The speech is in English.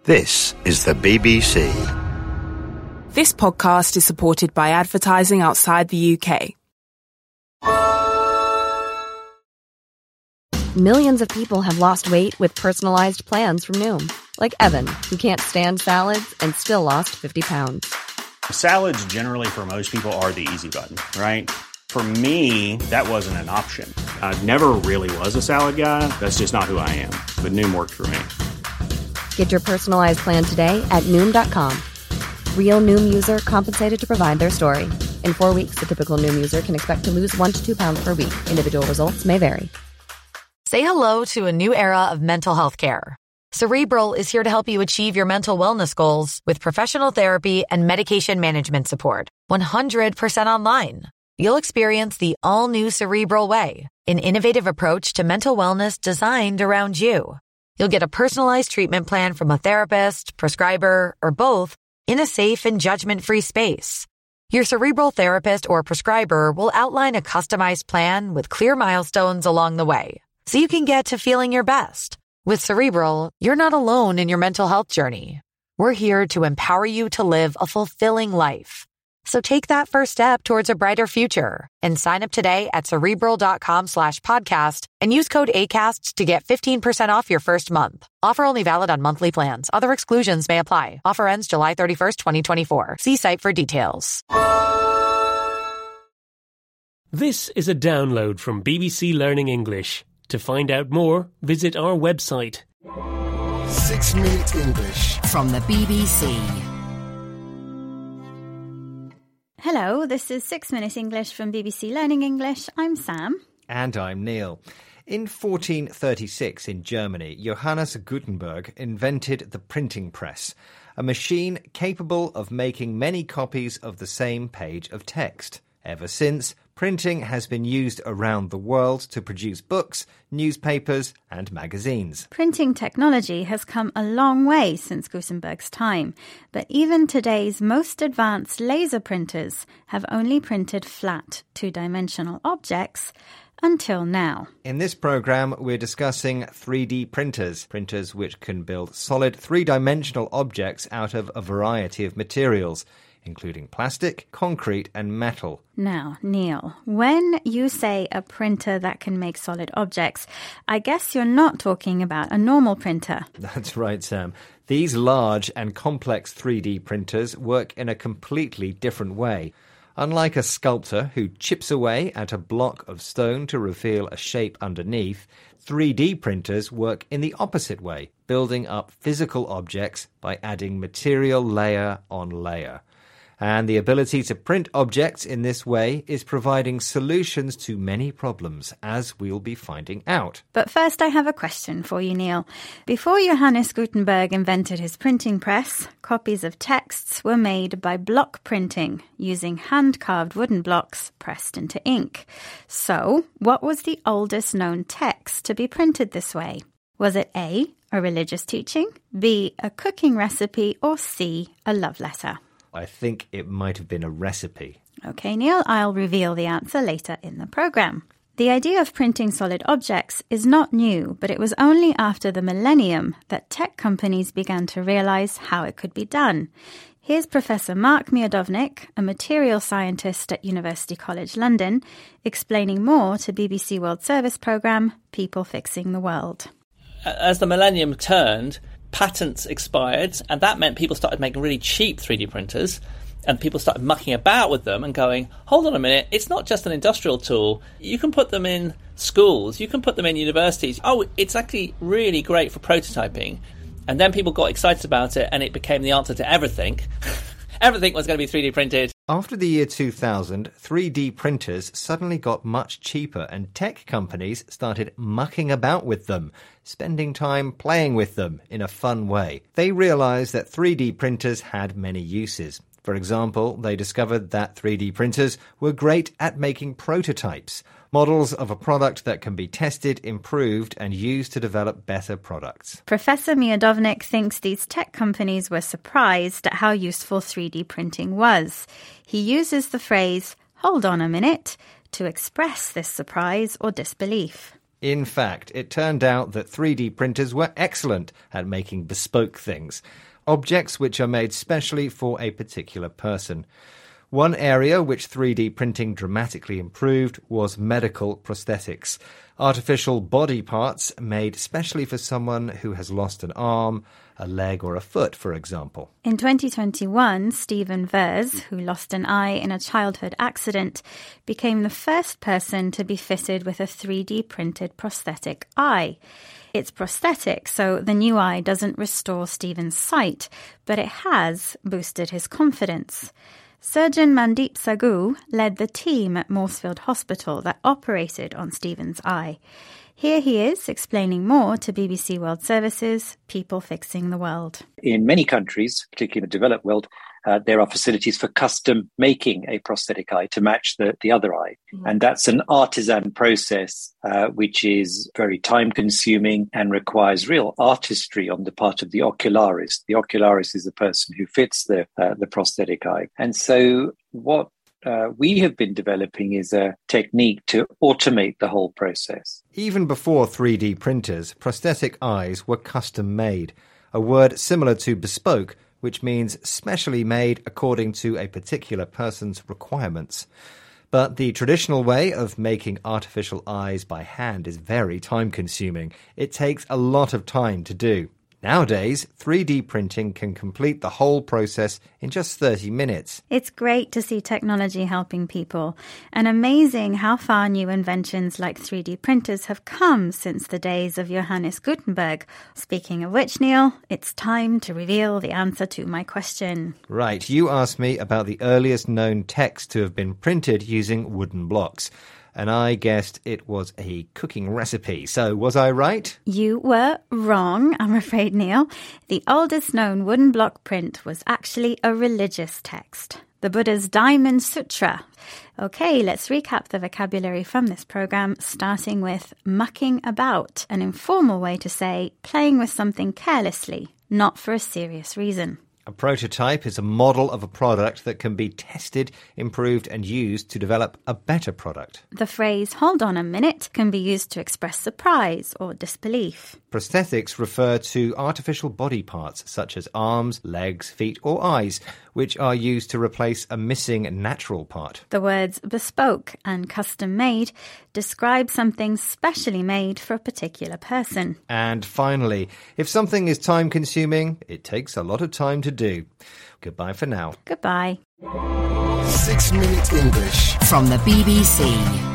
This is the BBC. This podcast is supported by advertising outside the UK. Millions of people have lost weight with personalized plans from Noom. Like Evan, who can't stand salads and still lost 50 pounds. Salads generally for most people are the easy button, right? For me, that wasn't an option. I never really was a salad guy. That's just not who I am. But Noom worked for me. Get your personalized plan today at Noom.com. Real Noom user compensated to provide their story. In 4 weeks, the typical Noom user can expect to lose 1 to 2 pounds per week. Individual results may vary. Say hello to a new era of mental health care. Cerebral is here to help you achieve your mental wellness goals with professional therapy and medication management support. 100% online. You'll experience the all-new Cerebral Way, an innovative approach to mental wellness designed around you. You'll get a personalized treatment plan from a therapist, prescriber, or both in a safe and judgment-free space. Your Cerebral therapist or prescriber will outline a customized plan with clear milestones along the way, so you can get to feeling your best. With Cerebral, you're not alone in your mental health journey. We're here to empower you to live a fulfilling life. So take that first step towards a brighter future and sign up today at Cerebral.com/podcast and use code ACAST to get 15% off your first month. Offer only valid on monthly plans. Other exclusions may apply. Offer ends July 31st, 2024. See site for details. This is a download from BBC Learning English. To find out more, visit our website. 6 Minute English from the BBC. Hello, this is 6 Minute English from BBC Learning English. I'm Sam. And I'm Neil. In 1436 in Germany, Johannes Gutenberg invented the printing press, a machine capable of making many copies of the same page of text. Ever since, printing has been used around the world to produce books, newspapers, and magazines. Printing technology has come a long way since Gutenberg's time, but even today's most advanced laser printers have only printed flat, two-dimensional objects until now. In this programme, we're discussing 3D printers, printers which can build solid three-dimensional objects out of a variety of materials, including plastic, concrete and metal. Now, Neil, when you say a printer that can make solid objects, I guess you're not talking about a normal printer. That's right, Sam. These large and complex 3D printers work in a completely different way. Unlike a sculptor who chips away at a block of stone to reveal a shape underneath, 3D printers work in the opposite way, building up physical objects by adding material layer on layer. And the ability to print objects in this way is providing solutions to many problems, as we'll be finding out. But first I have a question for you, Neil. Before Johannes Gutenberg invented his printing press, copies of texts were made by block printing, using hand-carved wooden blocks pressed into ink. So, what was the oldest known text to be printed this way? Was it A, a religious teaching, B, a cooking recipe, or C, a love letter? I think it might have been a recipe. Okay, Neil, I'll reveal the answer later in the programme. The idea of printing solid objects is not new, but it was only after the millennium that tech companies began to realise how it could be done. Here's Professor Mark Miodownik, a material scientist at University College London, explaining more to BBC World Service programme People Fixing the World. As the millennium turned, patents expired, and that meant people started making really cheap 3D printers, and people started mucking about with them and going, hold on a minute, it's not just an industrial tool. You can put them in schools, you can put them in universities. Oh, it's actually really great for prototyping. And then people got excited about it, and it became the answer to everything. Everything was going to be 3D printed. After the year 2000, 3D printers suddenly got much cheaper and tech companies started mucking about with them, spending time playing with them in a fun way. They realized that 3D printers had many uses. For example, they discovered that 3D printers were great at making prototypes, models of a product that can be tested, improved, and used to develop better products. Professor Miodownik thinks these tech companies were surprised at how useful 3D printing was. He uses the phrase, "hold on a minute," to express this surprise or disbelief. In fact, it turned out that 3D printers were excellent at making bespoke things, objects which are made specially for a particular person. One area which 3D printing dramatically improved was medical prosthetics, artificial body parts made specially for someone who has lost an arm, a leg or a foot, for example. In 2021, Stephen Vers, who lost an eye in a childhood accident, became the first person to be fitted with a 3D printed prosthetic eye. It's prosthetic, so the new eye doesn't restore Stephen's sight, but it has boosted his confidence. Surgeon Mandeep Sagu led the team at Morsfield Hospital that operated on Stephen's eye. Here he is explaining more to BBC World Service's People Fixing the World. In many countries, particularly in the developed world, there are facilities for custom making a prosthetic eye to match the other eye. And that's an artisan process which is very time-consuming and requires real artistry on the part of the ocularist. The ocularist is the person who fits the prosthetic eye. And so what we have been developing is a technique to automate the whole process. Even before 3D printers, prosthetic eyes were custom made, a word similar to bespoke, which means specially made according to a particular person's requirements. But the traditional way of making artificial eyes by hand is very time-consuming. It takes a lot of time to do. Nowadays, 3D printing can complete the whole process in just 30 minutes. It's great to see technology helping people, and amazing how far new inventions like 3D printers have come since the days of Johannes Gutenberg. Speaking of which, Neil, it's time to reveal the answer to my question. Right, you asked me about the earliest known text to have been printed using wooden blocks. And I guessed it was a cooking recipe. So, was I right? You were wrong, I'm afraid, Neil. The oldest known wooden block print was actually a religious text, the Buddha's Diamond Sutra. Okay, let's recap the vocabulary from this program, starting with mucking about, an informal way to say playing with something carelessly, not for a serious reason. A prototype is a model of a product that can be tested, improved and used to develop a better product. The phrase, hold on a minute, can be used to express surprise or disbelief. Prosthetics refer to artificial body parts such as arms, legs, feet or eyes, which are used to replace a missing natural part. The words bespoke and custom made describe something specially made for a particular person. And finally, if something is time-consuming, it takes a lot of time to do. Goodbye for now. Goodbye. 6 Minute English from the BBC.